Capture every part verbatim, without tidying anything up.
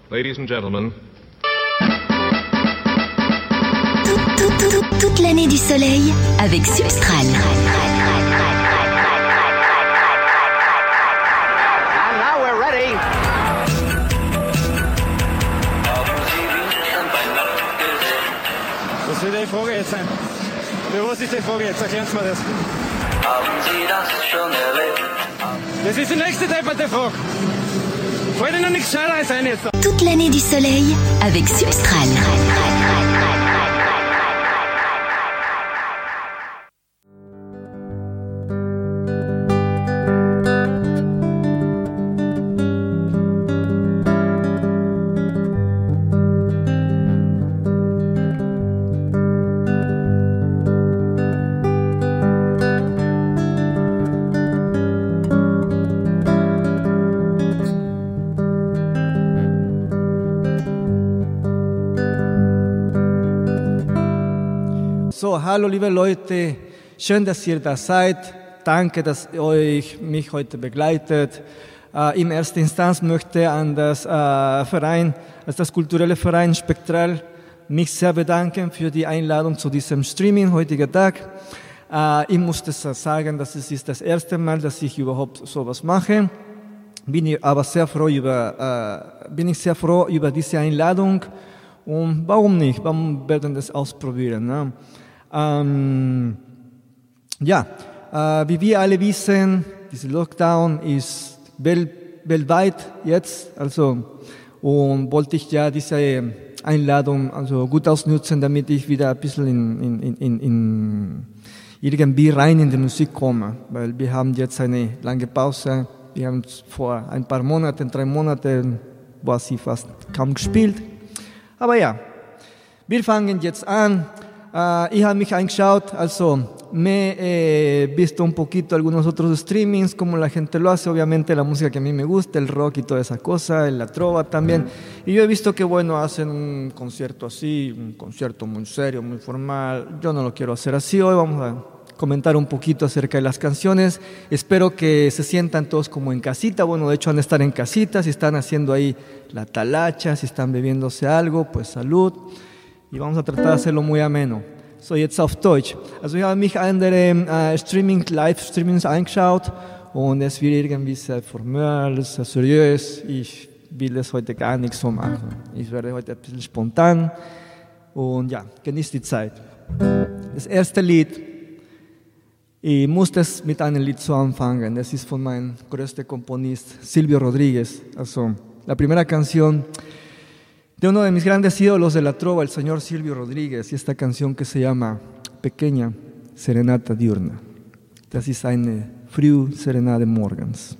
Ladies and gentlemen. Toute l'année du soleil avec Substral. And now we're ready. Was will die Frage jetzt sein? Für was ist die Frage jetzt? Erklären Sie mir das. Haben Sie das schon erlebt? Das ist die nächste depperte Frage. Fällt Ihnen nichts Scheißes ein jetzt? Toute l'année du soleil avec Substral. So, hallo liebe Leute, schön, dass ihr da seid. Danke, dass ihr euch mich heute begleitet. Äh, in erster Instanz möchte ich an das äh, Verein, also das kulturelle Verein Spektral, mich sehr bedanken für die Einladung zu diesem Streaming heutigen Tag. Äh, ich muss das sagen, dass es ist das erste Mal, dass ich überhaupt sowas mache. Bin ich aber sehr froh über, äh, bin ich sehr froh über diese Einladung. Und warum nicht? Warum werden wir das ausprobieren? Ne? Ähm, ja, äh, wie wir alle wissen, dieser Lockdown ist wel- weltweit jetzt, also, und wollte ich ja diese Einladung also gut ausnutzen, damit ich wieder ein bisschen in, in, in, in irgendwie rein in die Musik komme, weil wir haben jetzt eine lange Pause, wir haben vor ein paar Monaten, drei Monaten, war sie fast kaum gespielt, aber ja, wir fangen jetzt an. Uh, ich habe mich angeschaut, also me he visto un poquito algunos otros streamings, como la gente lo hace, obviamente la música que a mí me gusta, el rock y todas esas cosas, la trova también, y yo he visto que bueno, hacen un concierto así, un concierto muy serio, muy formal, yo no lo quiero hacer así, hoy vamos a comentar un poquito acerca de las canciones, espero que se sientan todos como en casita, bueno, de hecho han de estar en casita, si están haciendo ahí la talacha, si están bebiéndose algo, pues salud. Y vamos a tratar de hacerlo muy ameno. So, jetzt auf Deutsch. Also ich habe mich andere äh, Streaming, Live-Streamings angeschaut und es wird irgendwie sehr formell, sehr seriös. Ich will das heute gar nicht so machen. Ich werde heute ein bisschen spontan und ja, genießt die Zeit. Das erste Lied, ich muss das mit einem Lied so anfangen. Das ist von meinem größten Komponist, Silvio Rodríguez. Also, la primera canción de uno de mis grandes ídolos de la trova, el señor Silvio Rodríguez, y esta canción que se llama Pequeña Serenata Diurna. Das ist eine Frühserenade morgens.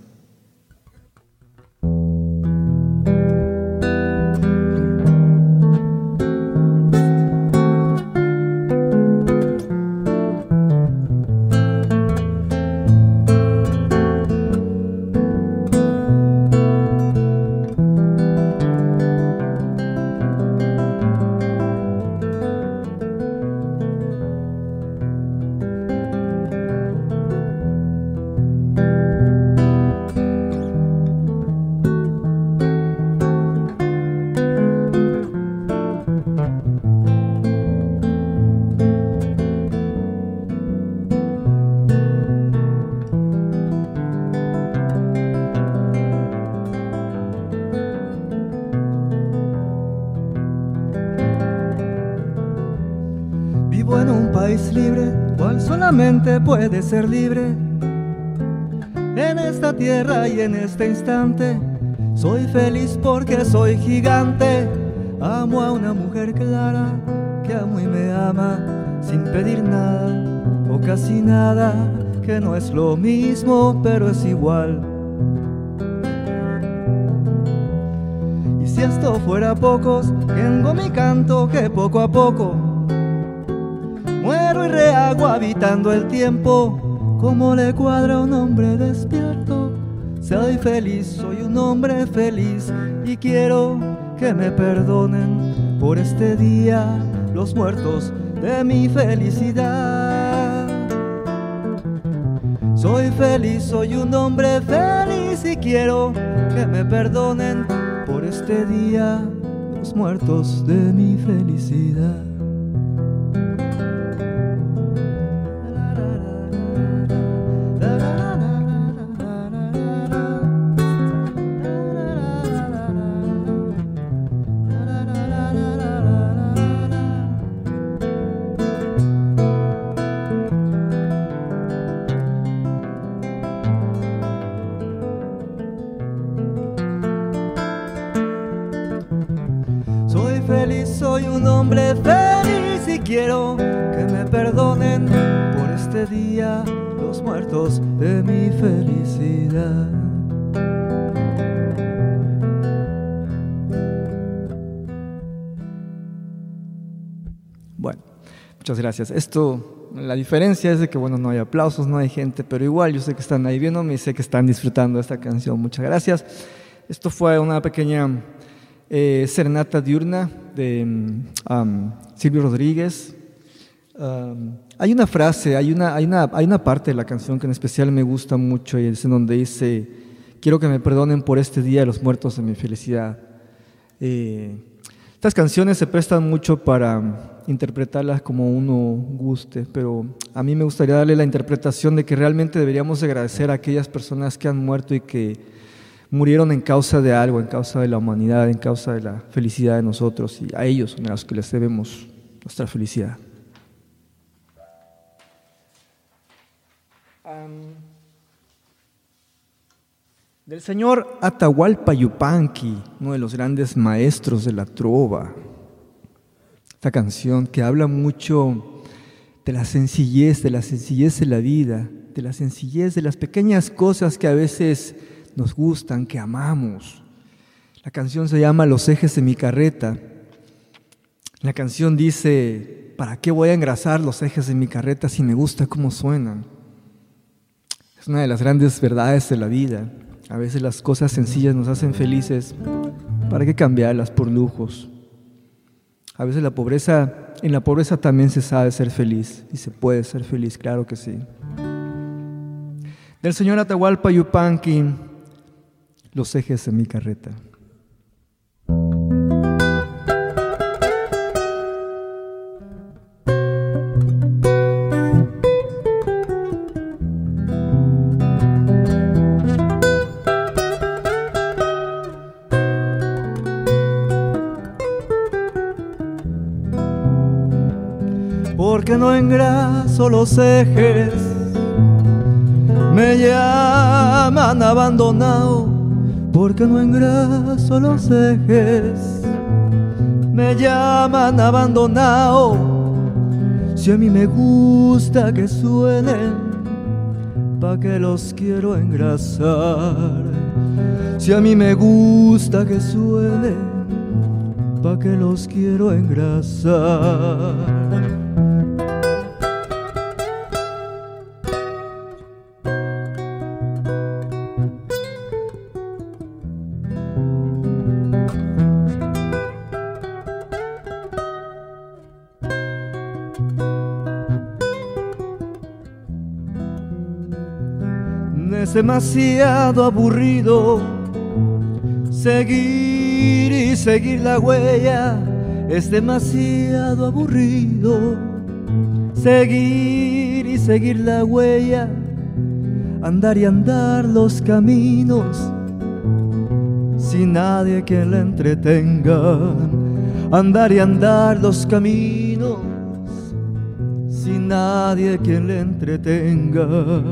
Vivo en un país libre, cual solamente puede ser libre. En esta tierra y en este instante, soy feliz porque soy gigante. Amo a una mujer clara, que amo y me ama, sin pedir nada, o casi nada, que no es lo mismo, pero es igual. Y si esto fuera pocos, tengo mi canto que poco a poco muero y rehago habitando el tiempo, como le cuadra a un hombre despierto. Soy feliz, soy un hombre feliz y quiero que me perdonen por este día los muertos de mi felicidad. Soy feliz, soy un hombre feliz y quiero que me perdonen por este día los muertos de mi felicidad. Soy feliz, soy un hombre feliz y quiero que me perdonen por este día los muertos de mi felicidad. Bueno, muchas gracias. Esto, la diferencia es de que, bueno, no hay aplausos, no hay gente, pero igual yo sé que están ahí viéndome y sé que están disfrutando de esta canción. Muchas gracias. Esto fue una pequeña eh, serenata diurna de um, Silvio Rodríguez. Um, hay una frase, hay una, hay, una, hay una parte de la canción que en especial me gusta mucho y es en donde dice: quiero que me perdonen por este día los muertos de mi felicidad. Eh, estas canciones se prestan mucho para interpretarlas como uno guste, pero a mí me gustaría darle la interpretación de que realmente deberíamos agradecer a aquellas personas que han muerto y que murieron en causa de algo, en causa de la humanidad, en causa de la felicidad de nosotros, y a ellos son a los que les debemos nuestra felicidad. Um, del señor Atahualpa Yupanqui, uno de los grandes maestros de la trova. Esta canción que habla mucho de la sencillez, de la sencillez de la vida, de la sencillez de las pequeñas cosas que a veces nos gustan, que amamos. La canción se llama Los ejes de mi carreta. La canción dice: ¿para qué voy a engrasar los ejes de mi carreta si me gusta cómo suenan? Es una de las grandes verdades de la vida. A veces las cosas sencillas nos hacen felices. ¿Para qué cambiarlas por lujos? A veces la pobreza, en la pobreza también se sabe ser feliz, y se puede ser feliz, claro que sí. Del señor Atahualpa Yupanqui, Los ejes de mi carreta. Porque no engraso los ejes, me llaman abandonado. Porque no engraso los ejes, me llaman abandonado. Si a mí me gusta que suenen, ¿pa' qué los quiero engrasar? Si a mí me gusta que suenen, ¿pa' qué los quiero engrasar? Es demasiado aburrido seguir y seguir la huella. Es demasiado aburrido seguir y seguir la huella. Andar y andar los caminos sin nadie que la entretenga. Andar y andar los caminos sin nadie que la entretenga.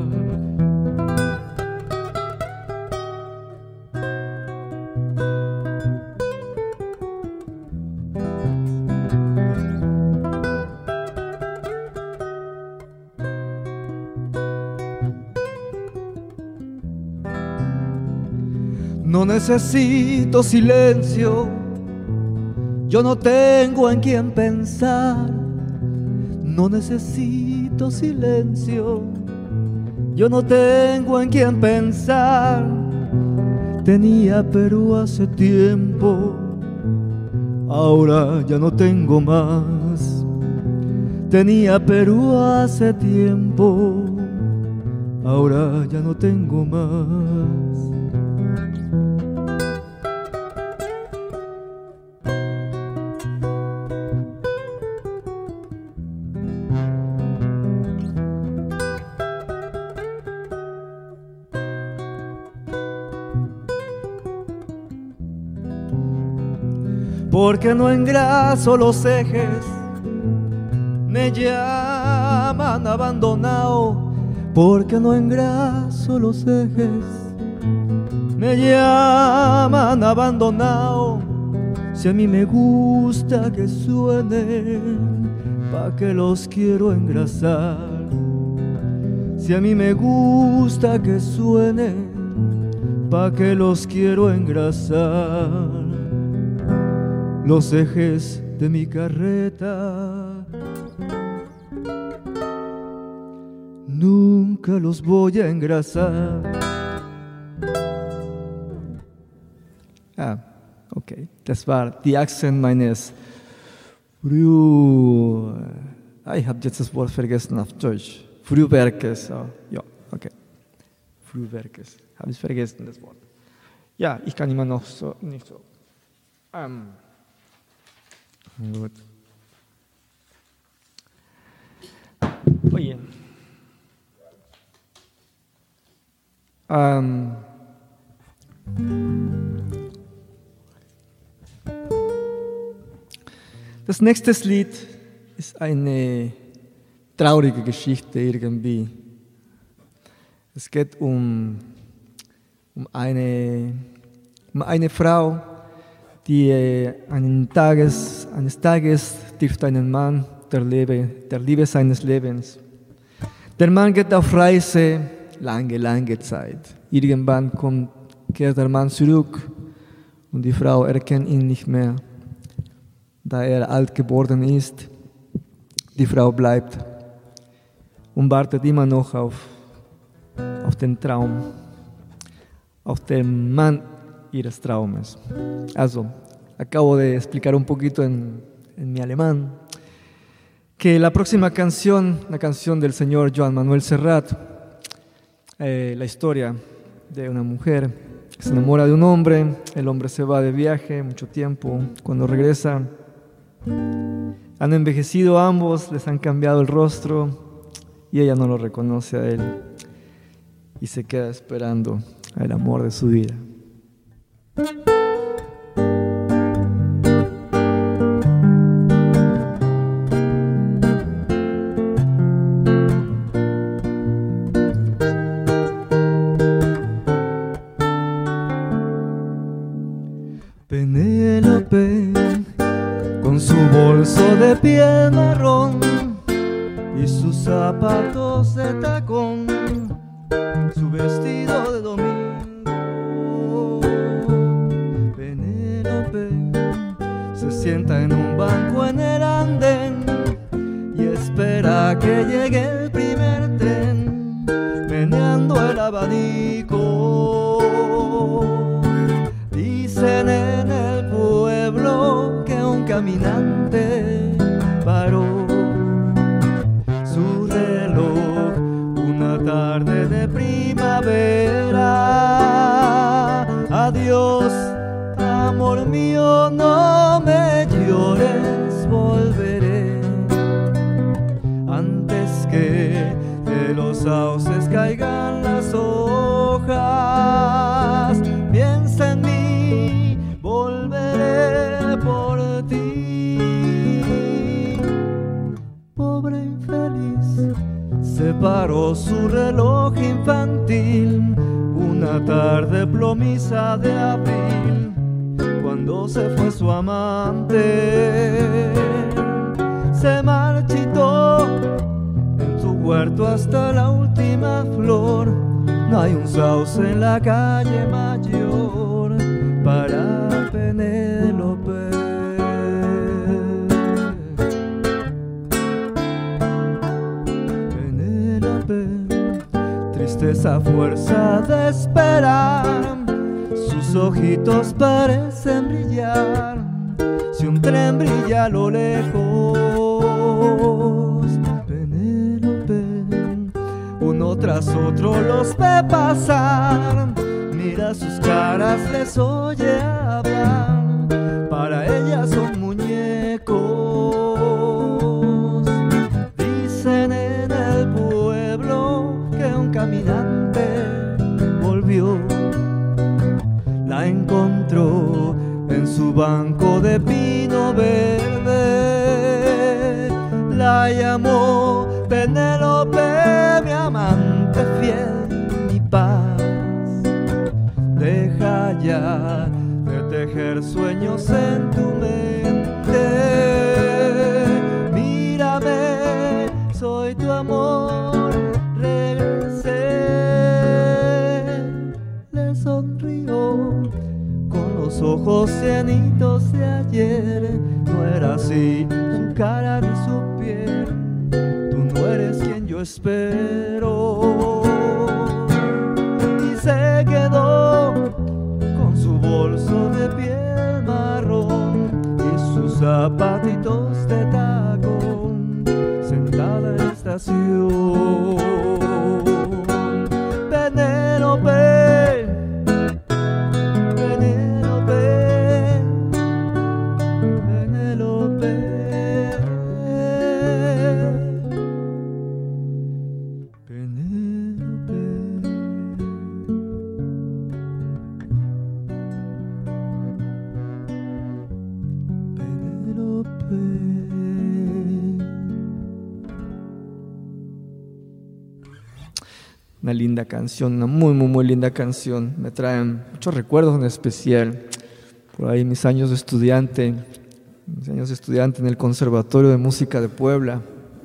No necesito silencio, yo no tengo en quién pensar. No necesito silencio, yo no tengo en quién pensar. Tenía Perú hace tiempo, ahora ya no tengo más. Tenía Perú hace tiempo, ahora ya no tengo más. porque no engraso los ejes. Me llaman abandonado, porque no engraso los ejes. Me llaman abandonado, si a mí me gusta que suenen, pa' que los quiero engrasar. Si a mí me gusta que suenen, pa' que los quiero engrasar. Los ejes de mi carreta nunca los voy a engrasar. Ah, okay. Das war die Achsen meines Früh... Ah, ich habe jetzt das Wort vergessen auf Deutsch. Frühwerkes. Oh, ja, okay. Frühwerkes. Habe ich vergessen, das Wort. Ja, ich kann immer noch so, nicht so. Ähm, gut. Oye. Ähm... Das nächste Lied ist eine traurige Geschichte irgendwie. Es geht um, um, eine, um eine Frau, die einen Tages, eines Tages trifft einen Mann der Liebe, der Liebe seines Lebens. Der Mann geht auf Reise lange, lange Zeit. Irgendwann kommt, kehrt der Mann zurück und die Frau erkennt ihn nicht mehr, da er alt geworden ist. Die Frau bleibt und wartet immer noch auf, auf den Traum, auf den Mann ihres Traumes. Also, acabo de explicar un poquito en, en mi alemán que la próxima canción, la canción del señor Joan Manuel Serrat, eh, la historia de una mujer que se enamora de un hombre, el hombre se va de viaje mucho tiempo, cuando regresa han envejecido ambos, les han cambiado el rostro y ella no lo reconoce a él y se queda esperando al amor de su vida. Penélope, con su bolso de piel marrón y sus zapatos de tacón, su vestido de domingo. Penélope se sienta en un banco en el andén y espera que llegue el primer tren, meneando el abanico. Dicen en el pueblo que un caminante paró su reloj una tarde de primavera. Adiós, amor mío, no me llores, volveré antes que de los sauces caigan las hojas. Piensa en mí, volveré por ti. Pobre infeliz, separó su reloj infantil una tarde plomiza de abril, cuando se fue su amante. Se marchitó en su huerto hasta la última flor. No hay un sauce en la calle Mayor para Penélope. Penélope, tristeza, fuerza de esperar, sus ojitos parecen brillar, si un tren brilla a lo lejos. Penélope, uno tras otro los ve pasar, mira sus caras, les oye hablar, para ella son muñecos. Dicen en el pueblo que un caminante volvió, la encontró en su banco de pino. Penélope, mi amante fiel, mi paz, deja ya de tejer sueños en tu mente. Mírame, soy tu amor, regresé. Le sonrió con los ojos llenitos de ayer. No era así su cara ni su piel. Tú no eres quien yo espero. Y se quedó con su bolso de piel marrón y sus zapatitos de tacón, sentada en la estación. Penélope, Penélope, Penélope, Penélope. Una linda canción, una muy, muy, muy linda canción. Me traen muchos recuerdos en especial. Por ahí mis años de estudiante, mis años de estudiante en el Conservatorio de Música de Puebla.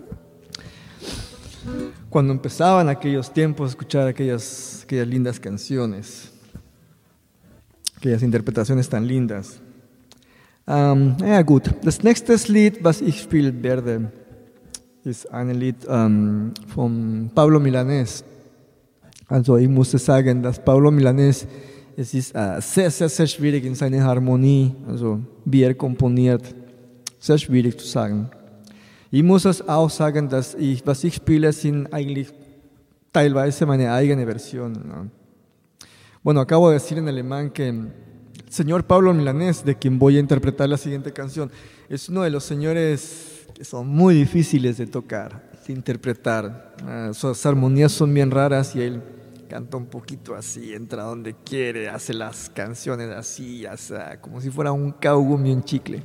Cuando empezaban aquellos tiempos a escuchar aquellas, aquellas lindas canciones, aquellas interpretaciones tan lindas. Um, ja gut, das nächste Lied, was ich spielen werde, ist ein Lied um, von Pablo Milanés. Also ich muss sagen, dass Pablo Milanés, es ist uh, sehr, sehr, sehr schwierig in seiner Harmonie, also wie er komponiert, sehr schwierig zu sagen. Ich muss es auch sagen, dass ich, was ich spiele, sind eigentlich teilweise meine eigene Version, ¿no? Bueno, acabo de decir en alemán que el señor Pablo Milanés, de quien voy a interpretar la siguiente canción, es uno de los señores que son muy difíciles de tocar, de interpretar. Uh, sus armonías son bien raras y él canta un poquito así, entra donde quiere, hace las canciones así, o sea, como si fuera un kaugummi, un chicle.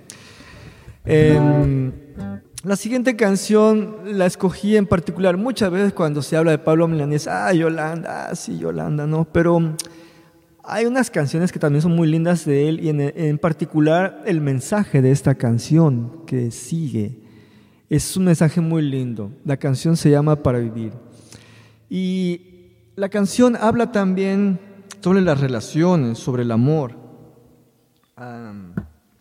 eh, la siguiente canción la escogí en particular muchas veces cuando se habla de Pablo Milanés. Ah, Yolanda, ah, sí, Yolanda, ¿no? Pero hay unas canciones que también son muy lindas de él y en, en particular el mensaje de esta canción que sigue es un mensaje muy lindo. La canción se llama Para Vivir y la canción habla también sobre las relaciones, sobre el amor, um,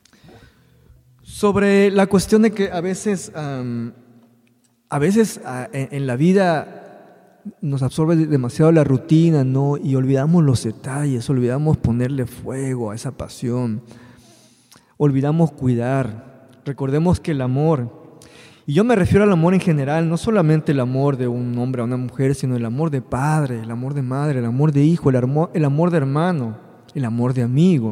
sobre la cuestión de que a veces, um, a veces uh, en, en la vida nos absorbe demasiado la rutina, ¿no? Y olvidamos los detalles, olvidamos ponerle fuego a esa pasión, olvidamos cuidar. Recordemos que el amor, y yo me refiero al amor en general, no solamente el amor de un hombre a una mujer, sino el amor de padre, el amor de madre, el amor de hijo, el amor, el amor de hermano, el amor de amigo.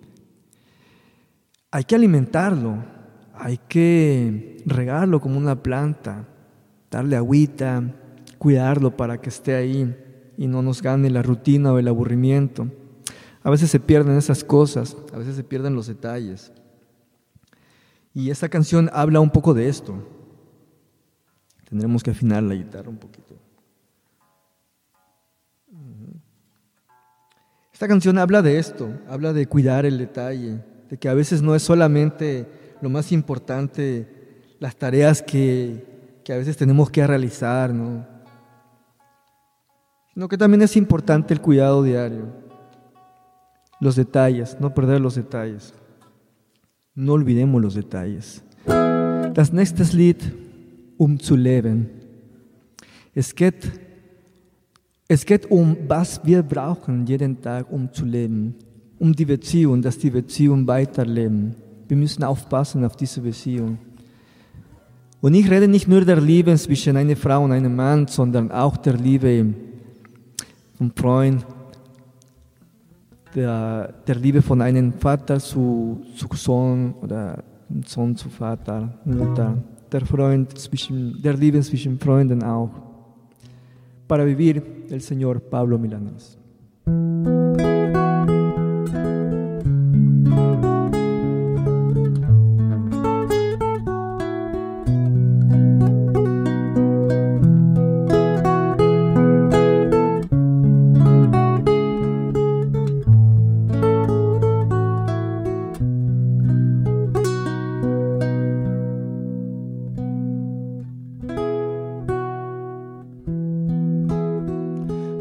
Hay que alimentarlo, hay que regarlo como una planta, darle agüita, cuidarlo para que esté ahí y no nos gane la rutina o el aburrimiento. A veces se pierden esas cosas, a veces se pierden los detalles. Y esta canción habla un poco de esto. Tendremos que afinar la guitarra un poquito. Esta canción habla de esto, habla de cuidar el detalle, de que a veces no es solamente lo más importante, las tareas que, que a veces tenemos que realizar, ¿no? Sino que también es importante el cuidado diario, los detalles, no perder los detalles. No olvidemos los detalles. Das nächste Lied, um zu leben. Es geht, es geht um, was wir brauchen jeden Tag, um zu leben. Um die Beziehung, dass die Beziehung weiterleben. Wir müssen aufpassen auf diese Beziehung. Und ich rede nicht nur der Liebe zwischen einer Frau und einem Mann, sondern auch der Liebe vom Freund, der, der Liebe von einem Vater zu, zu Sohn oder Sohn zu Vater, Mutter, der Freund zwischen, der Liebe zwischen Freunden auch. Para vivir, el señor Pablo Milanés.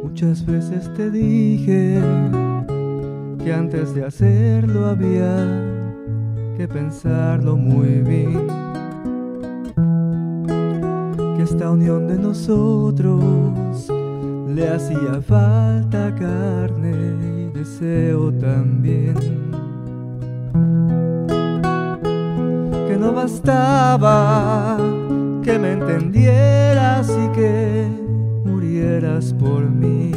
Muchas veces te dije que antes de hacerlo había que pensarlo muy bien, que esta unión de nosotros le hacía falta carne y deseo también, que no bastaba que me entendieras y que murieras por mí,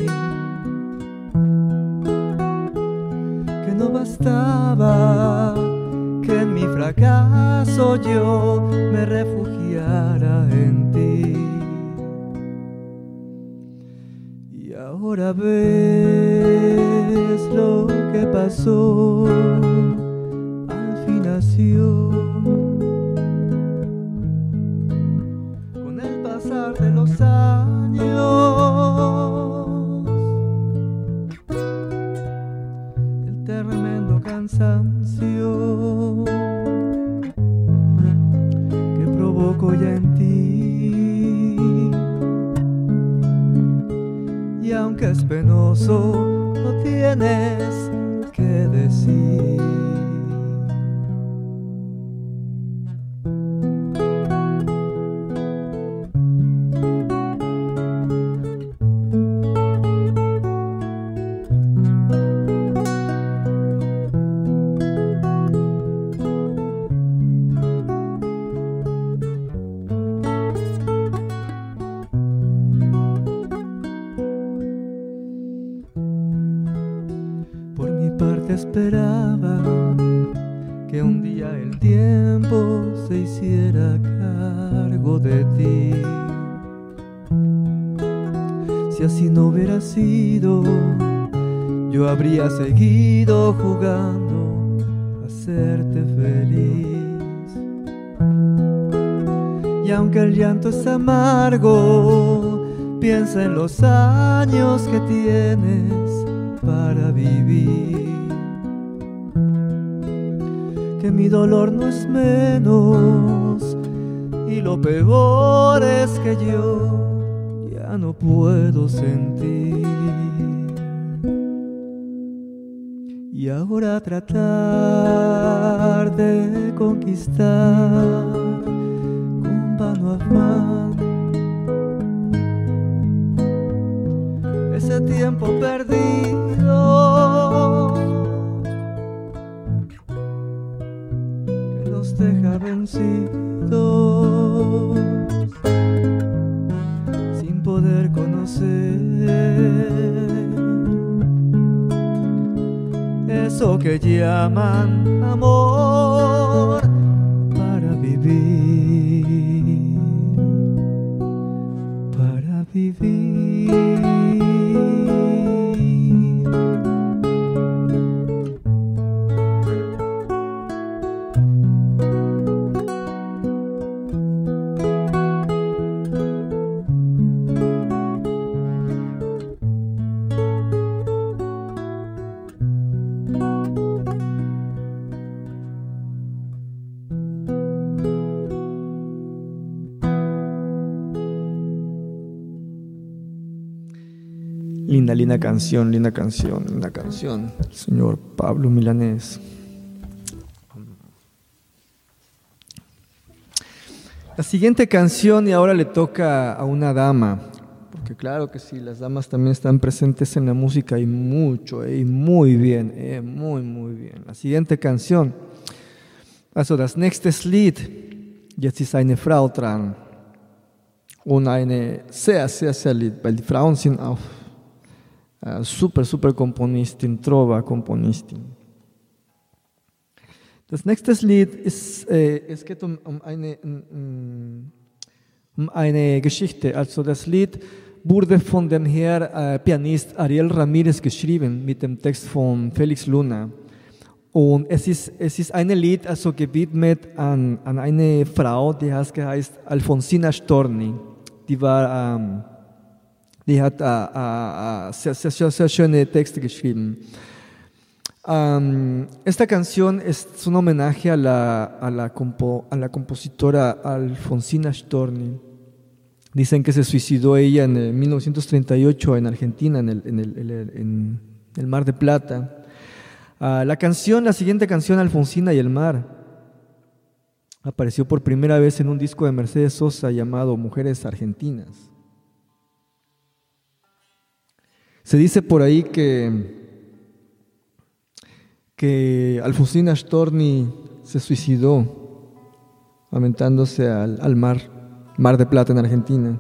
que no bastaba que en mi fracaso yo me refugiara en ti. Y ahora ves lo que pasó, al fin nació. Con el pasar de los años, el tremendo cansancio que provoco ya en ti, y aunque es penoso, no tienes que decir. Esperaba que un día el tiempo se hiciera cargo de ti. Si así no hubiera sido, yo habría seguido jugando a hacerte feliz. Y aunque el llanto es amargo, piensa en los años que tienes para vivir, que mi dolor no es menos, y lo peor es que yo ya no puedo sentir. Y ahora tratar de conquistar con vano afán ese tiempo perdido que nos deja vencidos sin poder conocer eso que llaman amor para vivir, para vivir. Linda, linda canción, linda canción, linda canción, señor Pablo Milanés. La siguiente canción, y ahora le toca a una dama, porque claro que sí, las damas también están presentes en la música y mucho, eh, y muy bien, eh, muy, muy bien. La siguiente canción, also das nächste Lied, jetzt ist eine Frau dran und eine sehr, sehr, sehr Lied, weil die Frauen sind auch Uh, super, super Komponistin, Trova Komponistin. Das nächste Lied ist, äh, es geht um, um, eine, um, um eine Geschichte. Also das Lied wurde von dem Herr äh, Pianist Ariel Ramirez geschrieben mit dem Text von Felix Luna. Und es ist, es ist ein Lied also gewidmet an, an eine Frau, die heißt, heißt Alfonsina Storni. Die war ähm, Die hat äh, äh, sehr, sehr, sehr schöne Texte geschrieben. Um, esta canción es un homenaje a la, a la, compo, a la compositora Alfonsina Storni. Dicen que se suicidó ella en el mil novecientos treinta y ocho en Argentina, en el, en el, en el, en el Mar de Plata. Uh, la canción, la siguiente canción, Alfonsina y el mar, apareció por primera vez en un disco de Mercedes Sosa llamado Mujeres Argentinas. Se dice por ahí que, que Alfonsina Storni se suicidó aventándose al, al mar, Mar de Plata en Argentina.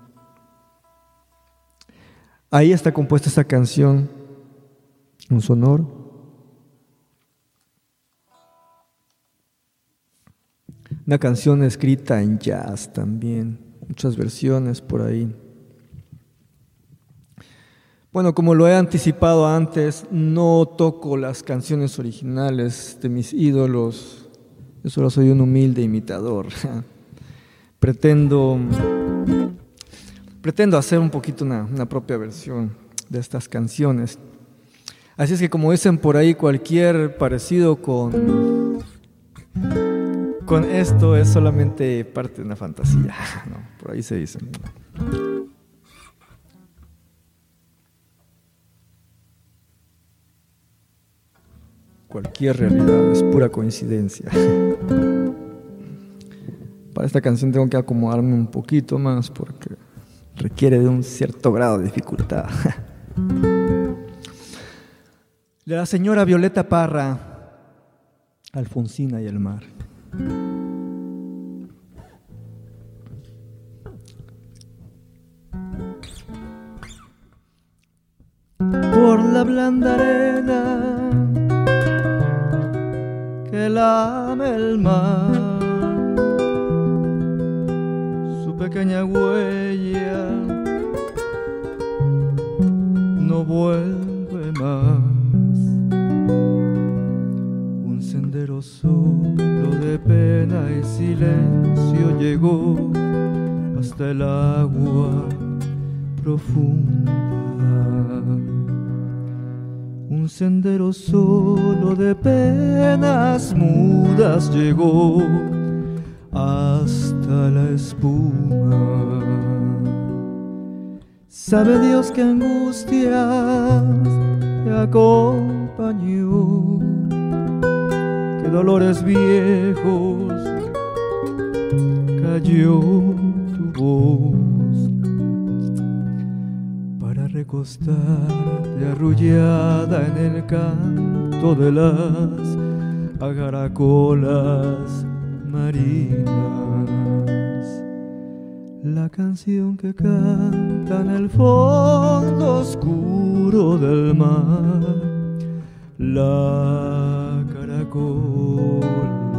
Ahí está compuesta esta canción, un sonoro. Una canción escrita en jazz también, muchas versiones por ahí. Bueno, como lo he anticipado antes, no toco las canciones originales de mis ídolos. Yo solo soy un humilde imitador. Pretendo, pretendo hacer un poquito una, una propia versión de estas canciones. Así es que, como dicen por ahí, cualquier parecido con... Con esto es solamente parte de una fantasía, ¿no? Por ahí se dice. Cualquier realidad es pura coincidencia. Para esta canción tengo que acomodarme un poquito más porque requiere de un cierto grado de dificultad. De la señora Violeta Parra, Alfonsina y el mar. Por la blanda arena que lame el mar, su pequeña huella no vuelve más. Un sendero solo de pena y silencio llegó hasta el agua profunda. Un sendero solo de penas mudas llegó hasta la espuma. Sabe Dios qué angustias te acompañó, qué dolores viejos cayó tu voz para recostarte arrullada en el canto de las agaracolas marinas. La canción que canta en el fondo oscuro del mar, la caracola.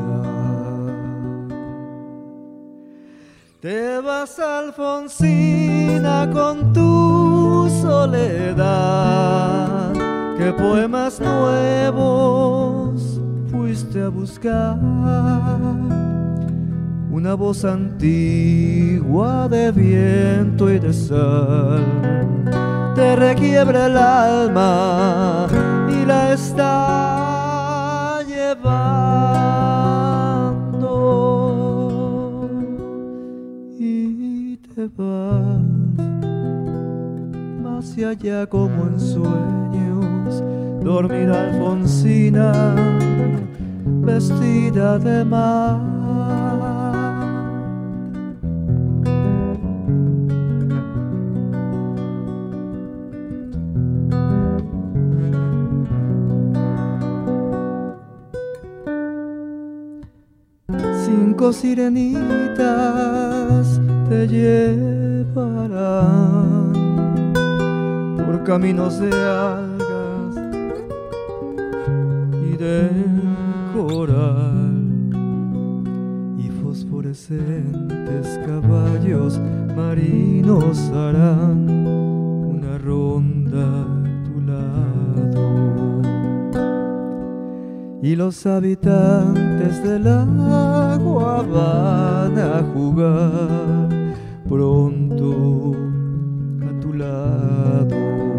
Te vas, Alfonsina, con tu soledad, ¿qué poemas nuevos fuiste a buscar? Una voz antigua de viento y de sal te requiebra el alma y la está llevando, y te vas hacia allá como en sueños. Dormirá Alfonsina vestida de mar. Cinco sirenitas te llevarán por caminos de algas y de coral, y fosforescentes caballos marinos harán una ronda a tu lado. Y los habitantes del agua van a jugar pronto a tu lado.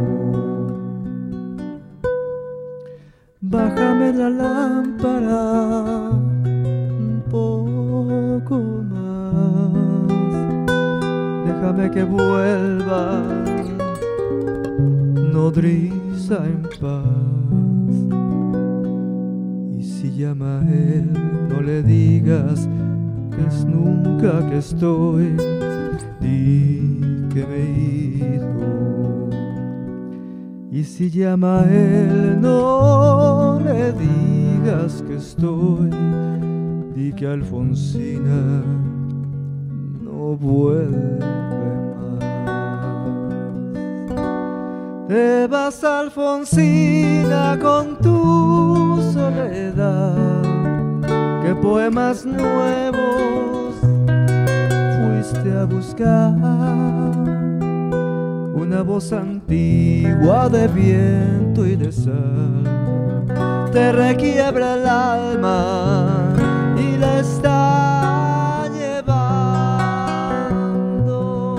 Bájame la lámpara un poco más, deja para que vuelva nodriza en paz. Y si llama a él, no le digas que es nunca que estoy, di que me he ido. Y si llama a él, no le digas que estoy, di que Alfonsina no vuelve más. Te vas, Alfonsina, con tu soledad. ¿Qué poemas nuevos fuiste a buscar? Una voz antigua de viento y de sal te requiebra el alma y la está llevando.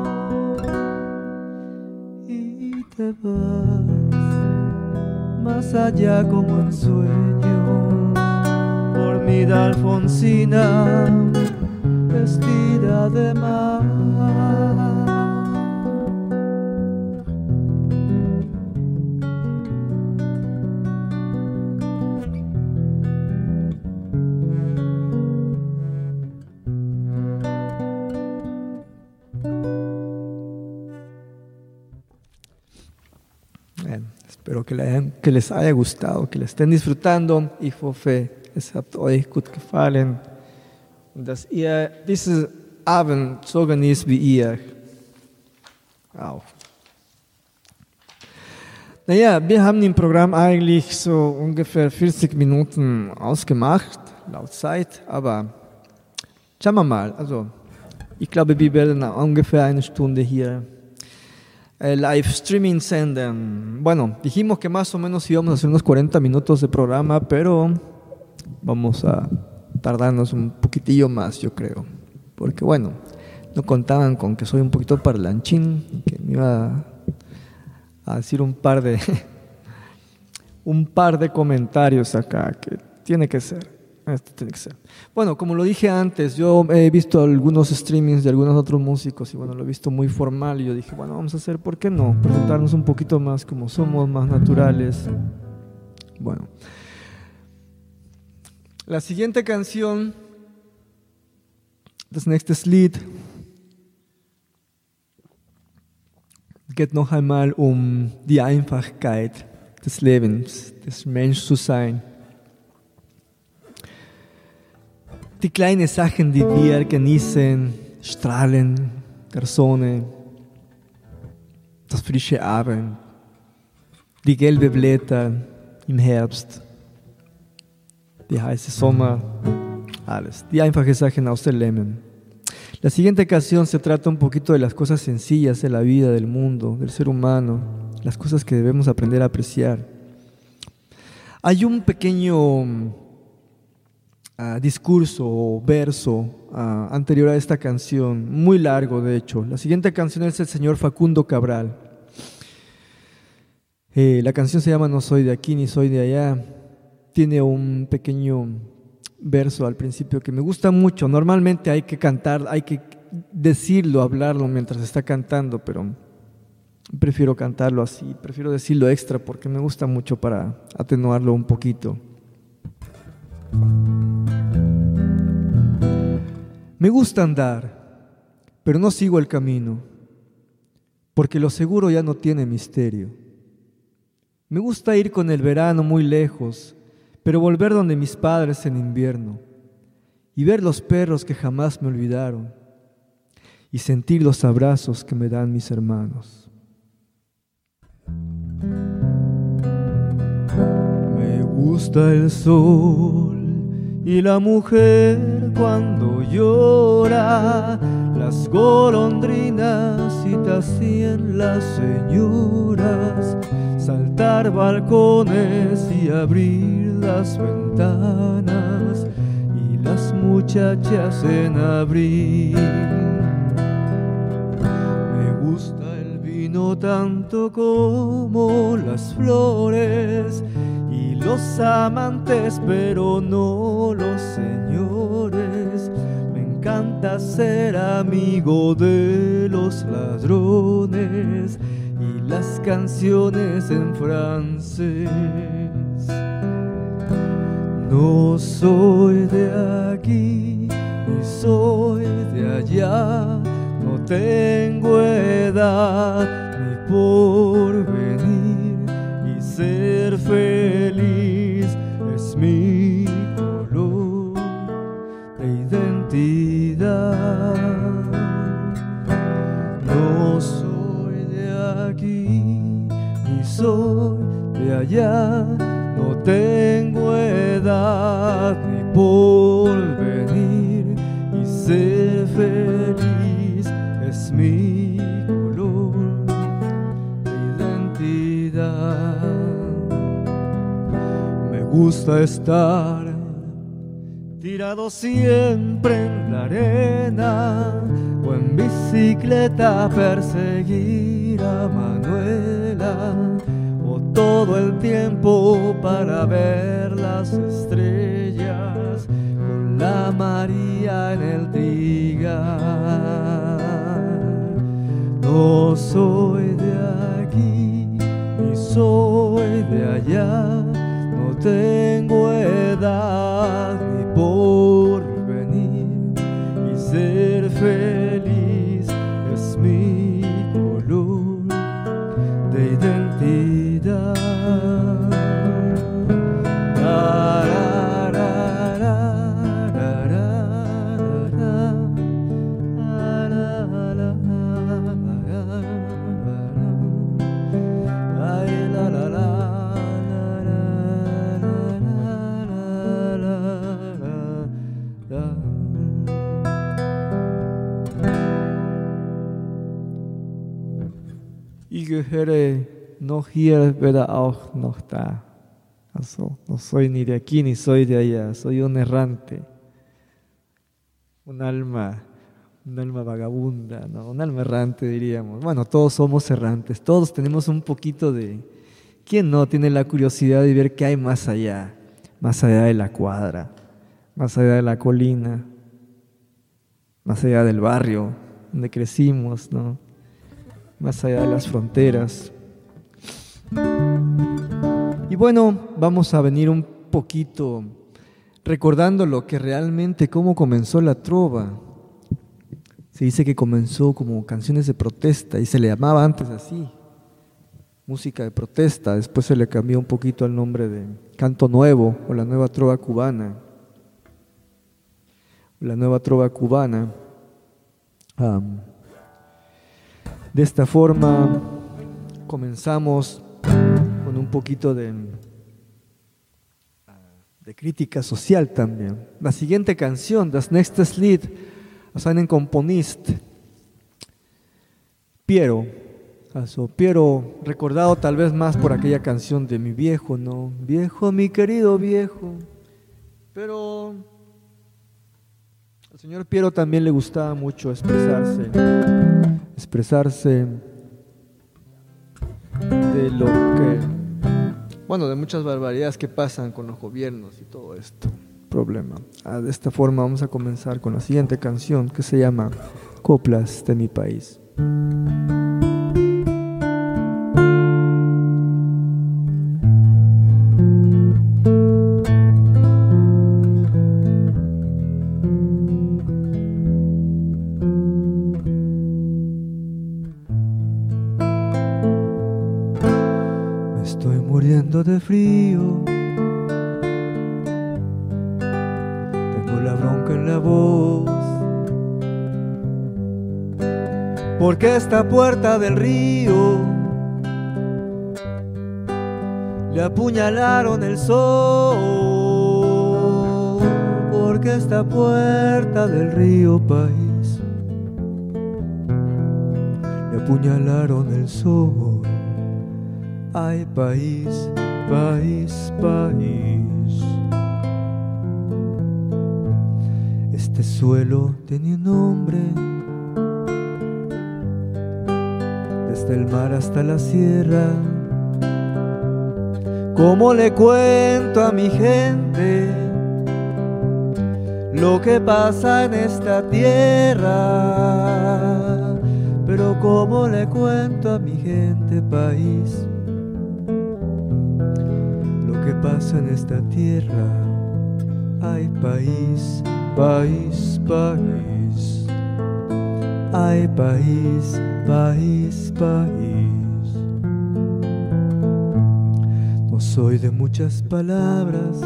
Y te vas más allá como en sueños, dormida Alfonsina, vestida de mar. Espero que, le, que les haya gustado, que le estén disfrutando. Ich hoffe, es hat euch gut gefallen, dass ihr diesen Abend so genießt wie ihr auch. Naja, wir haben im Programm eigentlich so ungefähr vierzig Minuten ausgemacht, laut Zeit, aber schauen wir mal. Also, ich glaube, wir werden ungefähr eine Stunde hier live streaming senden. Bueno, dijimos que más o menos íbamos a hacer unos cuarenta minutos de programa, pero vamos a tardarnos un poquitillo más, yo creo. Porque bueno, no contaban con que soy un poquito parlanchín, que me iba a decir un par de un par de comentarios acá, que tiene que ser. Esto tiene que ser. Bueno, como lo dije antes, yo he visto algunos streamings de algunos otros músicos y bueno, lo he visto muy formal y yo dije, bueno, vamos a hacer, ¿por qué no? Presentarnos un poquito más como somos, más naturales. Bueno. La siguiente canción, das nächste Lied, geht noch einmal um die Einfachkeit des Lebens, des Menschseins. Die kleinen Sachen, die wir genießen, strahlen der Sonne, das frische Abend, die gelben Blätter im Herbst, die heiße Sommer, alles. Die einfachen Sachen aus dem Leben. La siguiente canción se trata un poquito de las cosas sencillas de la vida, del mundo, del ser humano, las cosas que debemos aprender a apreciar. Hay un pequeño Uh, discurso o verso uh, anterior a esta canción, muy largo de hecho. La siguiente canción es el señor Facundo Cabral. Eh, la canción se llama No soy de aquí ni soy de allá. Tiene un pequeño verso al principio que me gusta mucho. Normalmente hay que cantar, hay que decirlo, hablarlo mientras está cantando, pero prefiero cantarlo así, prefiero decirlo extra porque me gusta mucho para atenuarlo un poquito. Me gusta andar, pero no sigo el camino, porque lo seguro ya no tiene misterio. Me gusta ir con el verano muy lejos, pero volver donde mis padres en invierno, y ver los perros que jamás me olvidaron, y sentir los abrazos que me dan mis hermanos. Me gusta el sol y la mujer cuando llora, las golondrinas y también las señoras, saltar balcones y abrir las ventanas, y las muchachas en abril. Me gusta el vino tanto como las flores, y los amantes, pero no los señores. Me encanta ser amigo de los ladrones y las canciones en francés. No soy de aquí ni soy de allá, no tengo edad ni porvenir, y ser feliz es mi color de identidad. No soy de aquí ni soy de allá, no tengo edad ni porvenir, y ser feliz es mi color de identidad. Me gusta estar tirado siempre en la arena, o en bicicleta perseguir a Manuela, o todo el tiempo para ver las estrellas con la María en el trigal. No soy de aquí ni soy de allá, no tengo edad ni porvenir, y ser feliz es mi color de identidad. Ich gehöre noch hier, weder auch noch da. Also, no soy ni de aquí ni soy de allá, soy un errante, un alma, un alma vagabunda, ¿no? Un alma errante diríamos. Bueno, todos somos errantes, todos tenemos un poquito de... ¿Quién no tiene la curiosidad de ver qué hay más allá? Más allá de la cuadra, más allá de la colina, más allá del barrio donde crecimos, ¿no? Más allá de las fronteras. Y bueno, vamos a venir un poquito recordando lo que realmente, cómo comenzó la trova. Se dice que comenzó como canciones de protesta y se le llamaba antes así, música de protesta. Después se le cambió un poquito el nombre de canto nuevo o la nueva trova cubana. La nueva trova cubana. Um, de esta forma comenzamos con un poquito de, de crítica social también. La siguiente canción, Das nächstes Lied, aus einem Komponist, Piero. Also, Piero, recordado tal vez más por aquella canción de mi viejo, ¿no? Viejo, mi querido viejo. Pero al señor Piero también le gustaba mucho expresarse, expresarse de lo que, bueno, de muchas barbaridades que pasan con los gobiernos y todo esto, problema. Ah, de esta forma vamos a comenzar con la siguiente canción que se llama Coplas de mi país. De frío, tengo la bronca en la voz, porque esta puerta del río le apuñalaron el sol, porque esta puerta del río país le apuñalaron el sol. Ay, país, país, país. Este suelo tenía un nombre, desde el mar hasta la sierra. ¿Cómo le cuento a mi gente lo que pasa en esta tierra, pero cómo le cuento a mi gente país lo que pasa en esta tierra. Ay, país, país, país. Ay, país, país, país. No soy de muchas palabras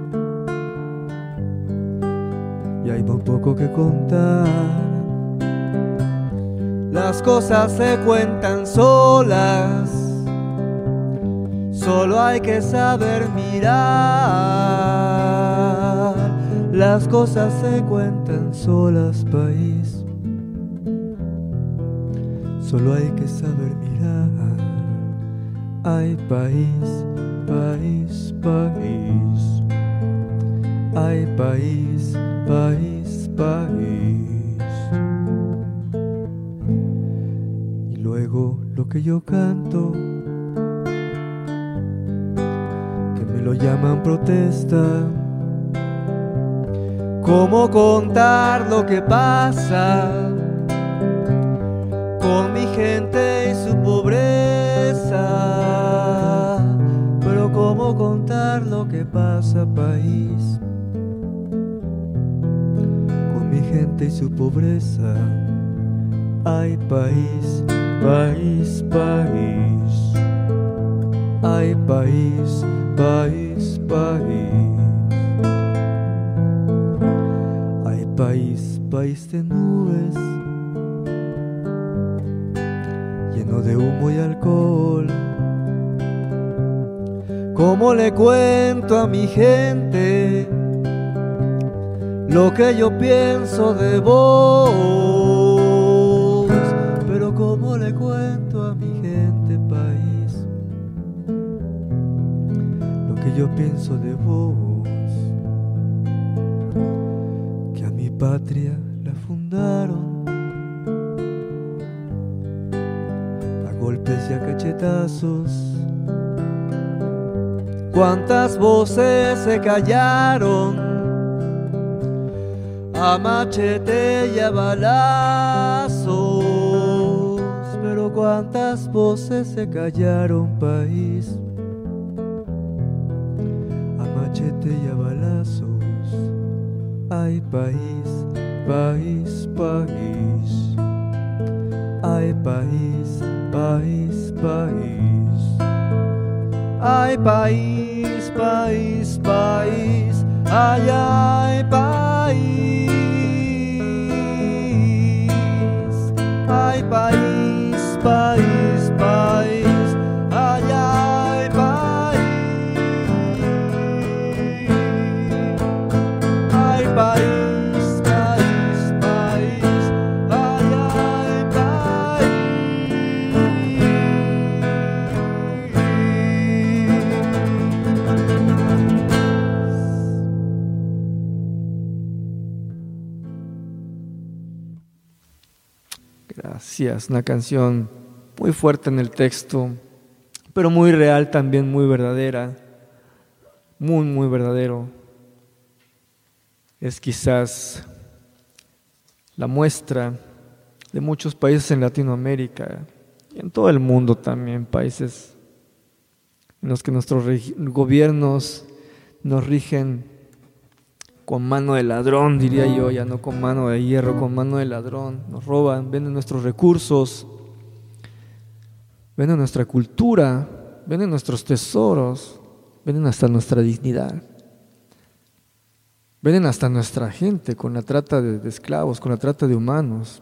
y hay muy poco que contar. Las cosas se cuentan solas, solo hay que saber mirar. Las cosas se cuentan solas, país, solo hay que saber mirar. Ay, país, país, país. Ay, país, país, país. Y luego lo que yo canto, que me lo llaman protesta. ¿Cómo contar lo que pasa con mi gente y su pobreza? Pero ¿cómo contar lo que pasa, país, con mi gente y su pobreza? Ay, país, país, país. Ay, país, país, país. Ay, país, país de nubes, lleno de humo y alcohol. ¿Cómo le cuento a mi gente lo que yo pienso de vos? Pero ¿cómo le cuento a mi gente, país, lo que yo pienso de vos? Que a mi patria la fundaron a golpes y a cachetazos. Cuántas voces se callaron a machete y a balazos. Pero cuántas voces se callaron, país, a machete y a balazos. Ay, país, país, país. Ay, país, país, país. Ay, país, país, país. Ay, ay, país. Ay, país, país, país. Ay, ay, país. Ay, país, país, país. Ay, ay, país. Gracias, una canción muy fuerte en el texto, pero muy real también, muy verdadera, muy, muy verdadero. Es quizás la muestra de muchos países en Latinoamérica y en todo el mundo también, países en los que nuestros gobiernos nos rigen con mano de ladrón, diría yo, ya no con mano de hierro, con mano de ladrón. Nos roban, venden nuestros recursos, venden nuestra cultura, venden nuestros tesoros, venden hasta nuestra dignidad, venden hasta nuestra gente con la trata de, de esclavos, con la trata de humanos.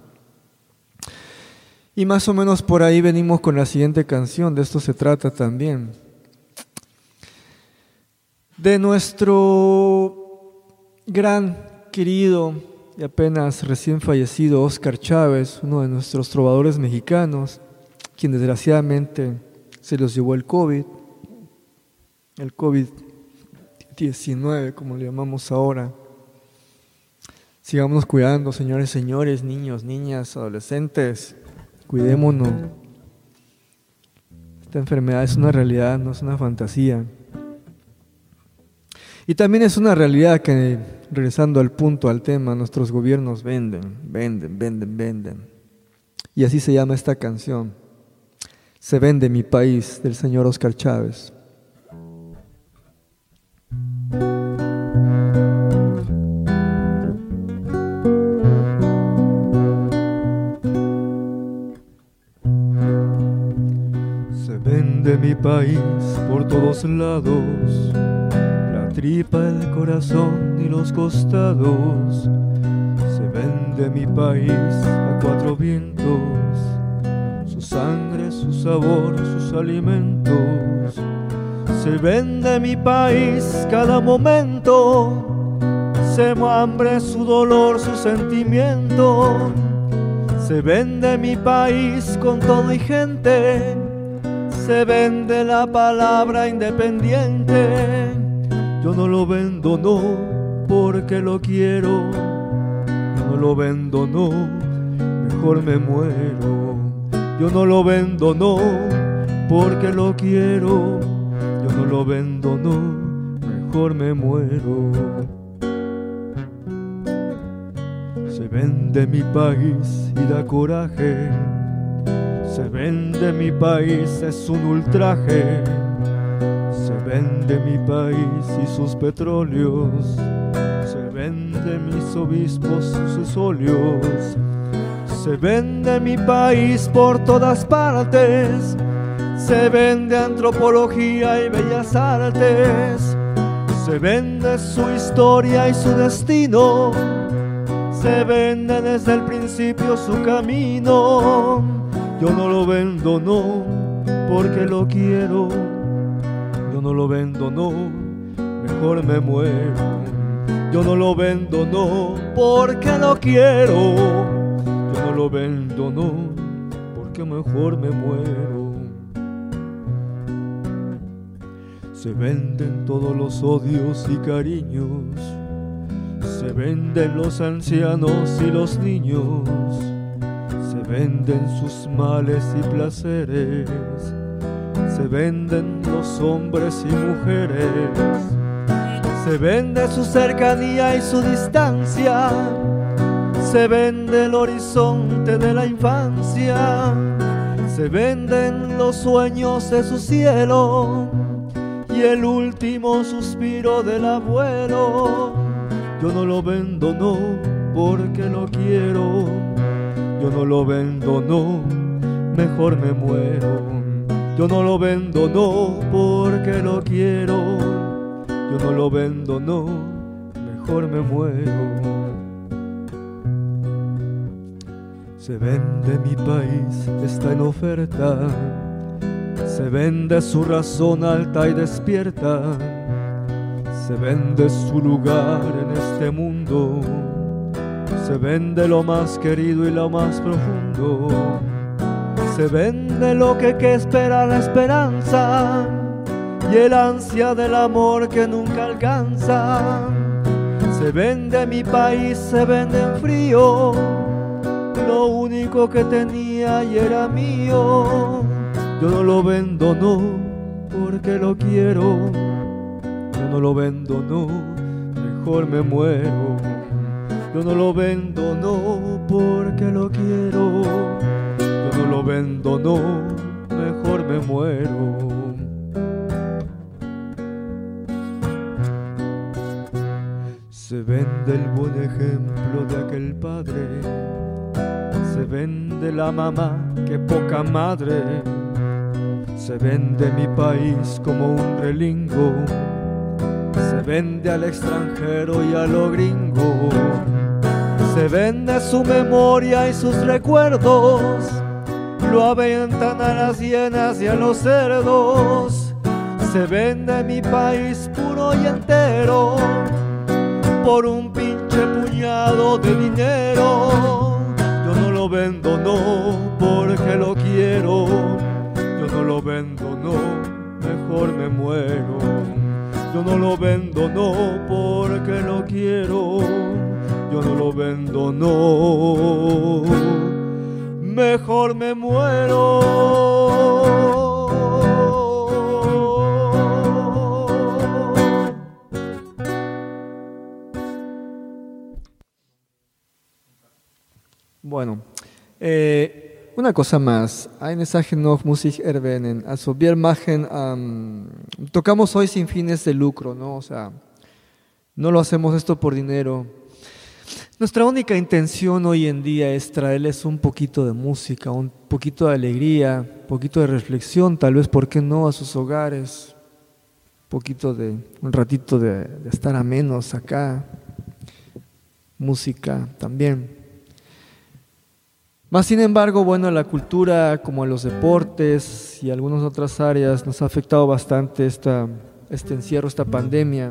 Y más o menos por ahí venimos con la siguiente canción, de esto se trata también. De nuestro gran, querido y apenas recién fallecido Óscar Chávez, uno de nuestros trovadores mexicanos, quien desgraciadamente se los llevó el COVID, el COVID diecinueve, como le llamamos ahora. Sigámonos cuidando, señores, señores, niños, niñas, adolescentes, cuidémonos. Esta enfermedad es una realidad, no es una fantasía. Y también es una realidad que regresando al punto, al tema, nuestros gobiernos venden, venden, venden, venden. Y así se llama esta canción. Se vende mi país, del señor Oscar Chávez. Se vende mi país por todos lados, la tripa, el corazón y los costados. Se vende mi país a cuatro vientos, su sangre, su sabor, sus alimentos. Se vende mi país cada momento, su hambre, su dolor, su sentimiento. Se vende mi país con todo y gente, se vende la palabra independiente. Yo no lo vendo, no, porque lo quiero. Yo no lo vendo, no, mejor me muero. Yo no lo vendo, no, porque lo quiero. Yo no lo vendo, no, mejor me muero. Se vende mi país y da coraje. Se vende mi país, es un ultraje. Se vende mi país y sus petróleos. Se vende mis obispos, sus óleos. Se vende mi país por todas partes. Se vende antropología y bellas artes. Se vende su historia y su destino. Se vende desde el principio su camino. Yo no lo vendo, no, porque lo quiero. Yo no lo vendo, no, mejor me muero. Yo no lo vendo, no, porque lo quiero. Yo no lo vendo, no, porque mejor me muero. Se venden todos los odios y cariños. Se venden los ancianos y los niños. Se venden sus males y placeres. Se venden los hombres y mujeres. Se vende su cercanía y su distancia. Se vende el horizonte de la infancia. Se venden los sueños de su cielo y el último suspiro del abuelo. Yo no lo vendo, no, porque lo quiero. Yo no lo vendo, no, mejor me muero. Yo no lo vendo, no, porque lo quiero. Yo no lo vendo, no, mejor me muero. Se vende mi país, está en oferta. Se vende su razón alta y despierta. Se vende su lugar en este mundo. Se vende lo más querido y lo más profundo. Se vende lo que, que espera la esperanza y el ansia del amor que nunca alcanza. Se vende mi país, se vende en frío lo único que tenía y era mío. Yo no lo vendo, no, porque lo quiero. Yo no lo vendo, no, mejor me muero. Yo no lo vendo, no, porque lo quiero. Yo no lo vendo, no, mejor me muero. Se vende el buen ejemplo de aquel padre. Se vende la mamá, que poca madre. Se vende mi país como un relingo. Se vende al extranjero y a lo gringo. Se vende su memoria y sus recuerdos. Lo aventan a las hienas y a los cerdos. Se vende mi país puro y entero por un pinche puñado de dinero. Yo no lo vendo, no, porque lo quiero. Yo no lo vendo, no, mejor me muero. Yo no lo vendo, no, porque lo quiero. Yo no lo vendo, no, mejor me muero. Eh, una cosa más, eine Sache noch muss ich erwähnen. Also wir machen, um, tocamos hoy sin fines de lucro, ¿no? O sea, no lo hacemos esto por dinero. Nuestra única intención hoy en día es traerles un poquito de música, un poquito de alegría, un poquito de reflexión, tal vez, ¿por qué no?, a sus hogares, un poquito de, un ratito de, de estar amenos acá, música también. Más sin embargo, bueno, la cultura, como los deportes y algunas otras áreas, nos ha afectado bastante esta, este encierro, esta pandemia.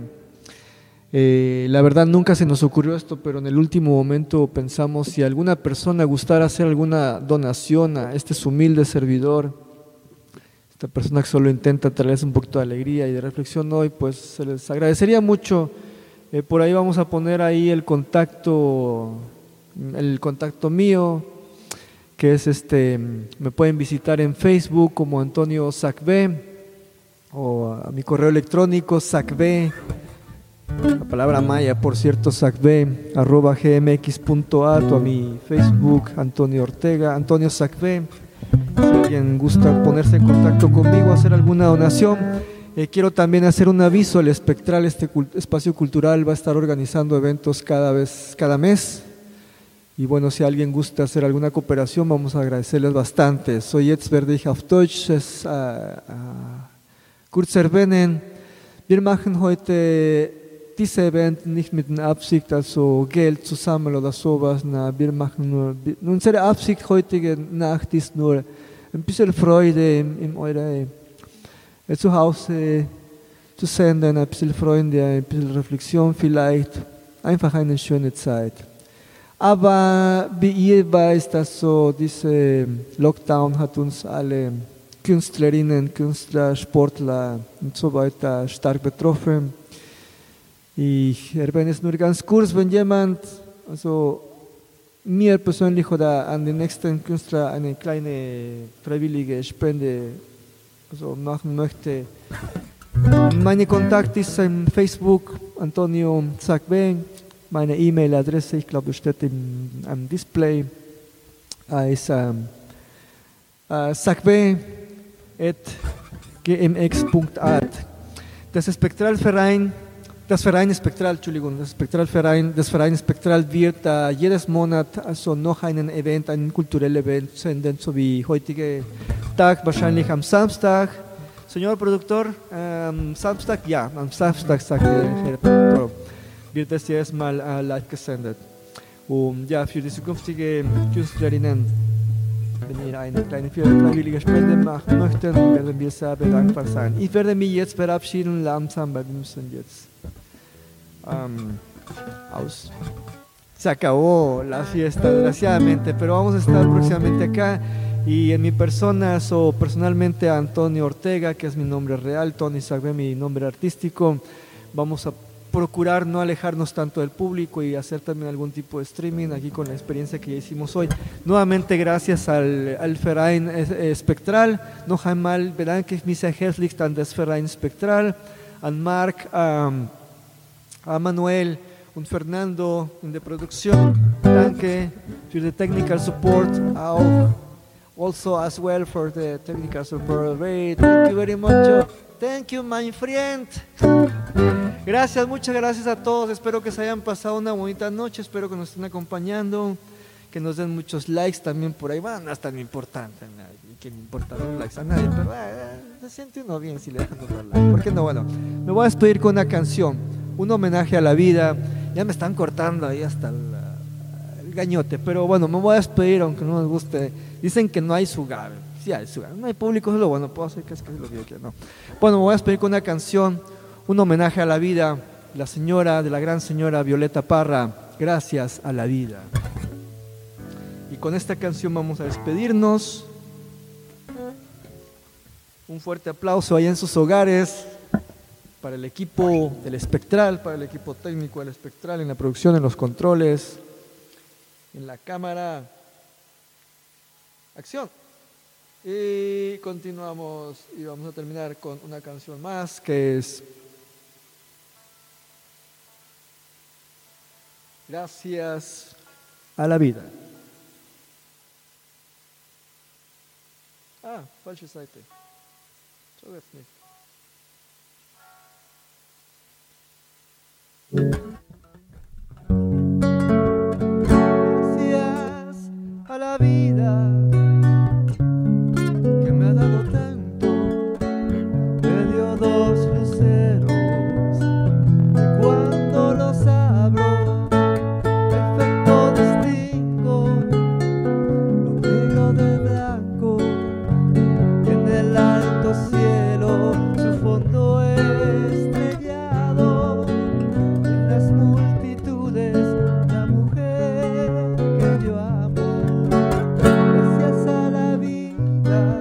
Eh, la verdad nunca se nos ocurrió esto, pero en el último momento pensamos, si alguna persona gustara hacer alguna donación a este su humilde servidor, esta persona que solo intenta traerles un poquito de alegría y de reflexión hoy, pues se les agradecería mucho. Eh, por ahí vamos a poner ahí el contacto, el contacto mío, que es este, me pueden visitar en Facebook como Antonio Sacbe, o a mi correo electrónico sacbe, la palabra maya, por cierto, sacbe, arroba gmx.at, o a mi Facebook, Antonio Ortega, Antonio Sacbe. Si alguien gusta ponerse en contacto conmigo, hacer alguna donación. Eh, quiero también hacer un aviso: el Espectral, este cult- espacio cultural, va a estar organizando eventos cada vez, cada mes. Y bueno, si alguien gusta hacer alguna cooperación, vamos a agradecerles bastante. So, jetzt werde ich auf Deutsch es, uh, uh, kurz erwähnen. Wir machen heute diese Event nicht mit der Absicht, also Geld zu sammeln oder sowas. Na, wir machen nur, unsere Absicht heutige Nacht ist nur ein bisschen Freude in, in eure äh, Zuhause zu senden, ein bisschen Freude, ein bisschen Reflexion vielleicht, einfach eine schöne Zeit. Aber wie ihr wisst, also dieser Lockdown hat uns alle Künstlerinnen, Künstler, Sportler und so weiter stark betroffen. Ich erwähne es nur ganz kurz, wenn jemand, also mir persönlich oder an den nächsten Künstler eine kleine freiwillige Spende also machen möchte. Meine Kontakt ist in Facebook, Antonio Sacbe. Meine E-Mail-Adresse, ich glaube, steht im, am Display, äh, ist ähm, äh, sacbe at gmx punkt at. Das Spektralverein, das Verein Spektral, Entschuldigung, das Spektralverein, das Verein Spektral wird äh, jedes Monat also noch einen Event, einen kulturellen Event senden, so wie heutige Tag, wahrscheinlich am Samstag. Señor Productor, ähm, Samstag? Ja, am Samstag, sagt der Herr Produktor, wird das jedes Mal äh, live gesendet. Und ja, für die zukünftigen Künstlerinnen, wenn ihr eine kleine freiwillige Spende machen möchtet, werden wir sehr dankbar sein. Ich werde mich jetzt verabschieden langsam, weil wir müssen jetzt ähm, aus. Se acabó la fiesta, desgraciadamente, pero vamos a estar próximamente acá. Y en mi persona, so, personalmente Antonio Ortega, que es mi nombre real, Tony Sacbe, mi nombre artístico, vamos a procurar no alejarnos tanto del público y hacer también algún tipo de streaming aquí con la experiencia que ya hicimos hoy. Nuevamente gracias al, al Verein Spektral, noch einmal bedanke ich mich sehr herzlich an das Verein Spektral, an Marc, um, a Manuel und Fernando in der Produktion. Danke für den technical support, auch also as well for the technical support. Thank you very much. Thank you, my friend. Gracias, muchas gracias a todos. Espero que se hayan pasado una bonita noche. Espero que nos estén acompañando, que nos den muchos likes también por ahí. Bueno, no es tan importante, que me importan los likes a nadie, pero eh, se siente uno bien si le dejan los likes. ¿Por qué no? Bueno, me voy a despedir con una canción, un homenaje a la vida. Ya me están cortando ahí hasta el, el gañote, pero bueno, me voy a despedir aunque no nos guste. Dicen que no hay sugar. Sí hay sugar. No hay público, es lo bueno. Puedo hacer que es que es lo que yo quiero. No. Bueno, me voy a despedir con una canción, un homenaje a la vida, la señora, de la gran señora Violeta Parra, Gracias a la vida. Y con esta canción vamos a despedirnos. Un fuerte aplauso allá en sus hogares para el equipo del Spektral, para el equipo técnico del Spektral, en la producción, en los controles, en la cámara. Acción. Y continuamos y vamos a terminar con una canción más que es Gracias a la vida. Ah, falsche Seite. So jetzt nicht. Gracias a la vida que me ha dado tanto, me dio dos luceros que cuando los abro perfecto distingo lo negro de blanco y en el alto cielo su fondo estrellado y en las multitudes la mujer que yo amo. Gracias a la vida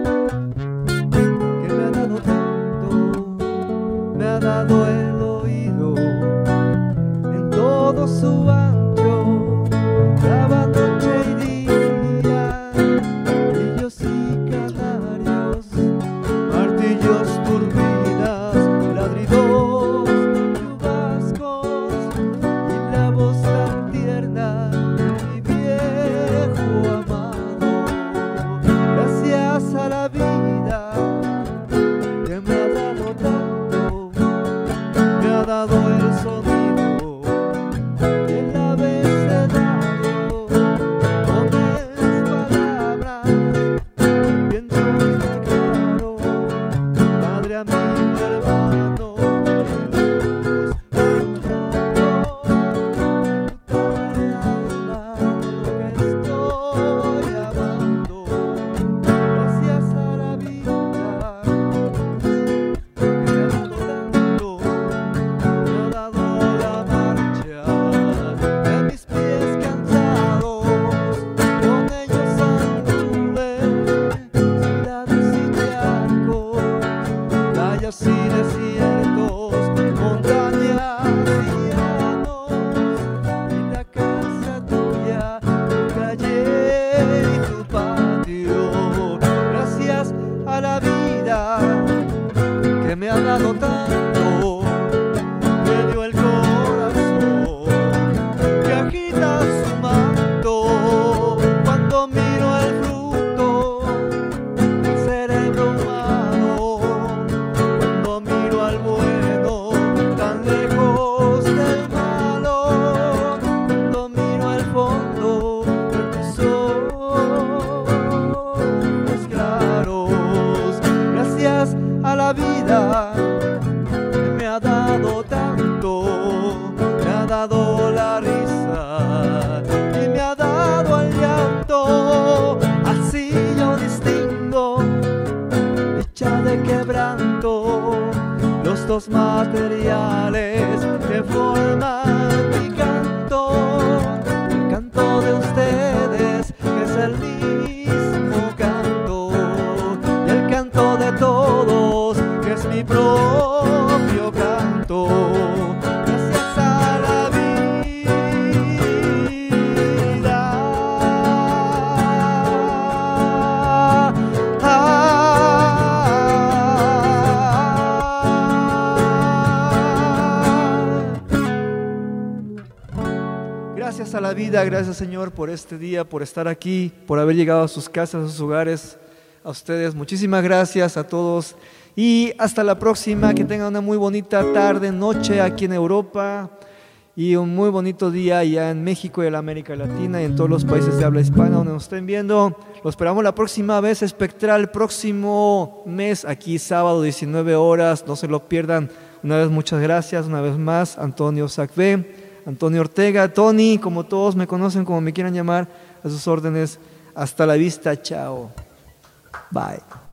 que me ha dado tanto, me ha dado el oído en todo su ancho, daba noche y día, grillos y canarios, martillos, turbinas, ladridos, chubascos y la voz tan tierna de mi viejo amado. Gracias a la vida que me ha dado tanto, me ha dado el sonido y el abecedario con mis palabras, pienso y declaro, padre, amigo, hermano, Dios, toda el alma lo que estoy amando. Gracias a la vida que me ha dado tanto, me ha dado la marcha de mis pies cansados, con ellos anduve ciudades y charcos, playas y desiertos, montañas y llanos, y la casa tuya, tu calle y tu patio. Gracias a la vida que me ha dado tanto, me dio el corazón que agita su manto cuando miro el fruto del cerebro humano, cuando miro al bueno tan lejos del malo, cuando miro al fondo de tus ojos claros. Gracias a la vida que me ha dado tanto, me ha dado la risa y me ha dado el llanto. Así yo distingo dicha de quebranto, los dos materiales que forman mi canto, el canto de ustedes que es el mismo canto y el canto de todos que es mi propio canto. Gracias a la vida. Gracias a la vida, gracias Señor por este día, por estar aquí, por haber llegado a sus casas, a sus hogares, a ustedes. Muchísimas gracias a todos y hasta la próxima. Que tengan una muy bonita tarde, noche aquí en Europa y un muy bonito día allá en México y en la América Latina y en todos los países de habla hispana donde nos estén viendo. Los esperamos la próxima vez, Espectral, próximo mes, aquí sábado, diecinueve horas. No se lo pierdan. Una vez muchas gracias, una vez más, Antonio Sacvé, Antonio Ortega, Tony, como todos me conocen, como me quieran llamar, a sus órdenes. Hasta la vista, chao. Bye.